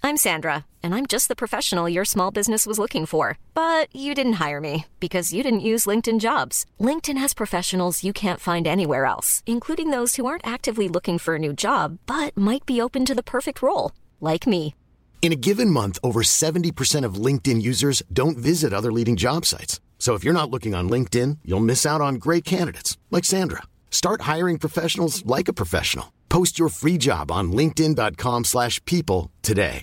I'm Sandra, and I'm just the professional your small business was looking for. But you didn't hire me because you didn't use LinkedIn Jobs. LinkedIn has professionals you can't find anywhere else, including those who aren't actively looking for a new job, but might be open to the perfect role, like me. In a given month, over 70% of LinkedIn users don't visit other leading job sites. So if you're not looking on LinkedIn, you'll miss out on great candidates like Sandra. Start hiring professionals like a professional. Post your free job on linkedin.com/people today.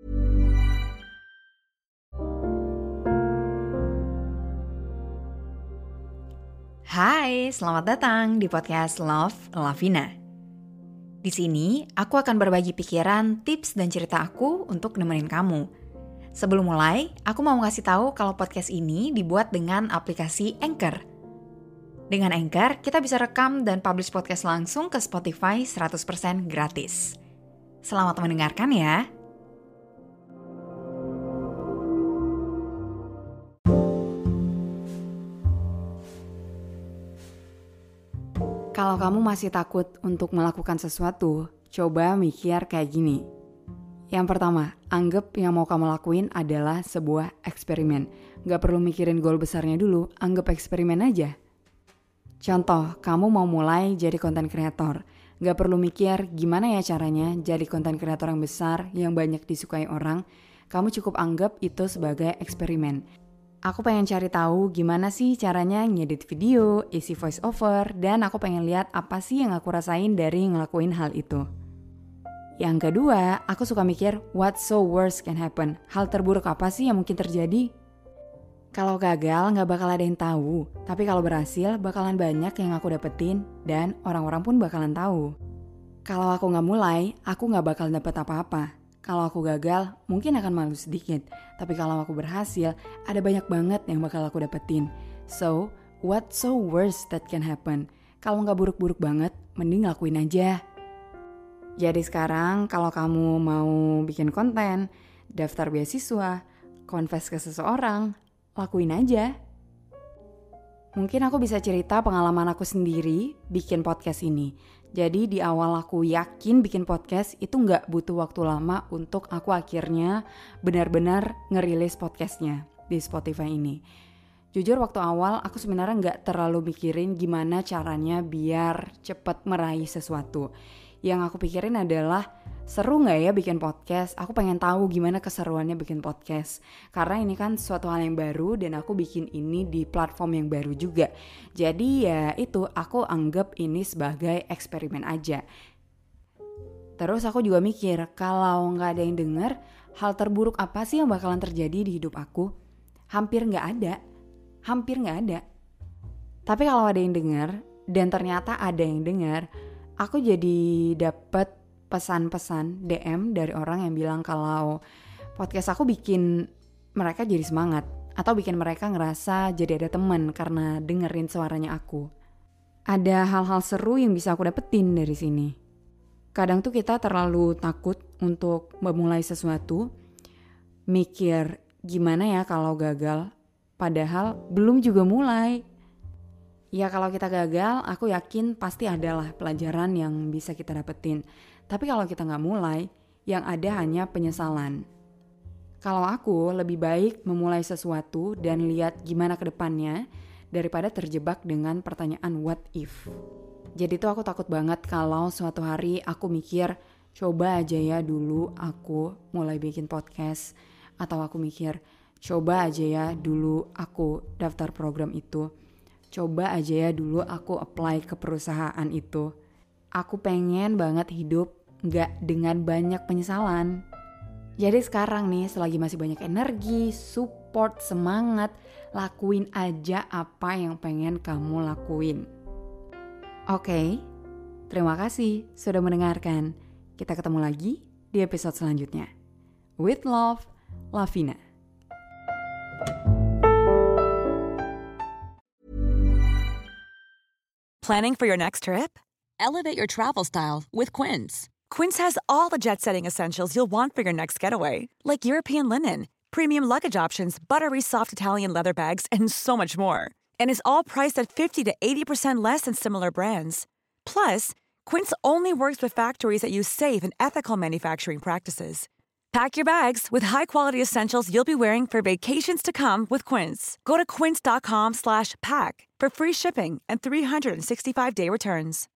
Hai, selamat datang di podcast Love Lavina. Di sini, aku akan berbagi pikiran, tips, dan cerita aku untuk nemenin kamu. Sebelum mulai, aku mau ngasih tahu kalau podcast ini dibuat dengan aplikasi Anchor. Dengan Anchor, kita bisa rekam dan publish podcast langsung ke Spotify 100% gratis. Selamat mendengarkan ya. Kalau kamu masih takut untuk melakukan sesuatu, coba mikir kayak gini. Yang pertama, anggap yang mau kamu lakuin adalah sebuah eksperimen. Gak perlu mikirin goal besarnya dulu, anggap eksperimen aja. Contoh, kamu mau mulai jadi content creator. Gak perlu mikir gimana ya caranya jadi content creator yang besar, yang banyak disukai orang. Kamu cukup anggap itu sebagai eksperimen. Aku pengen cari tahu gimana sih caranya ngedit video, isi voice over, dan aku pengen lihat apa sih yang aku rasain dari ngelakuin hal itu. Yang kedua, aku suka mikir what so worst can happen. Hal terburuk apa sih yang mungkin terjadi? Kalau gagal gak bakal ada yang tahu, tapi kalau berhasil bakalan banyak yang aku dapetin dan orang-orang pun bakalan tahu. Kalau aku gak mulai, aku gak bakal dapet apa-apa. Kalau aku gagal, mungkin akan malu sedikit. Tapi kalau aku berhasil, ada banyak banget yang bakal aku dapetin. So, what so worst that can happen? Kalau nggak buruk-buruk banget, mending lakuin aja. Jadi sekarang, kalau kamu mau bikin konten, daftar beasiswa, confess ke seseorang, lakuin aja. Mungkin aku bisa cerita pengalaman aku sendiri bikin podcast ini. Jadi di awal aku yakin bikin podcast itu gak butuh waktu lama untuk aku akhirnya benar-benar ngerilis podcastnya di Spotify ini. Jujur waktu awal aku sebenarnya gak terlalu mikirin gimana caranya biar cepet meraih sesuatu. Yang aku pikirin adalah seru gak ya bikin podcast? Aku pengen tahu gimana keseruannya bikin podcast. Karena ini kan suatu hal yang baru dan aku bikin ini di platform yang baru juga. Jadi ya itu aku anggap ini sebagai eksperimen aja. Terus aku juga mikir kalau gak ada yang denger, hal terburuk apa sih yang bakalan terjadi di hidup aku? Hampir gak ada. Tapi kalau ada yang denger dan ternyata ada yang denger, aku jadi dapet pesan-pesan DM dari orang yang bilang kalau podcast aku bikin mereka jadi semangat atau bikin mereka ngerasa jadi ada teman karena dengerin suaranya aku. Ada hal-hal seru yang bisa aku dapetin dari sini. Kadang tuh kita terlalu takut untuk memulai sesuatu, mikir gimana ya kalau gagal, padahal belum juga mulai. Ya kalau kita gagal, aku yakin pasti adalah pelajaran yang bisa kita dapetin. Tapi kalau kita gak mulai, yang ada hanya penyesalan. Kalau aku lebih baik memulai sesuatu dan lihat gimana ke depannya daripada terjebak dengan pertanyaan what if. Jadi tuh aku takut banget kalau suatu hari aku mikir coba aja ya dulu aku mulai bikin podcast. Atau aku mikir coba aja ya dulu aku daftar program itu. Coba aja ya dulu aku apply ke perusahaan itu. Aku pengen banget hidup gak dengan banyak penyesalan. Jadi sekarang nih selagi masih banyak energi, support, semangat, lakuin aja apa yang pengen kamu lakuin. Oke, terima kasih sudah mendengarkan. Kita ketemu lagi di episode selanjutnya. With love, Lavina. Planning for your next trip? Elevate your travel style with Quince. Quince has all the jet-setting essentials you'll want for your next getaway, like European linen, premium luggage options, buttery soft Italian leather bags, and so much more. And is all priced at 50 to 80% less than similar brands. Plus, Quince only works with factories that use safe and ethical manufacturing practices. Pack your bags with high-quality essentials you'll be wearing for vacations to come with Quince. Go to quince.com/pack for free shipping and 365-day returns.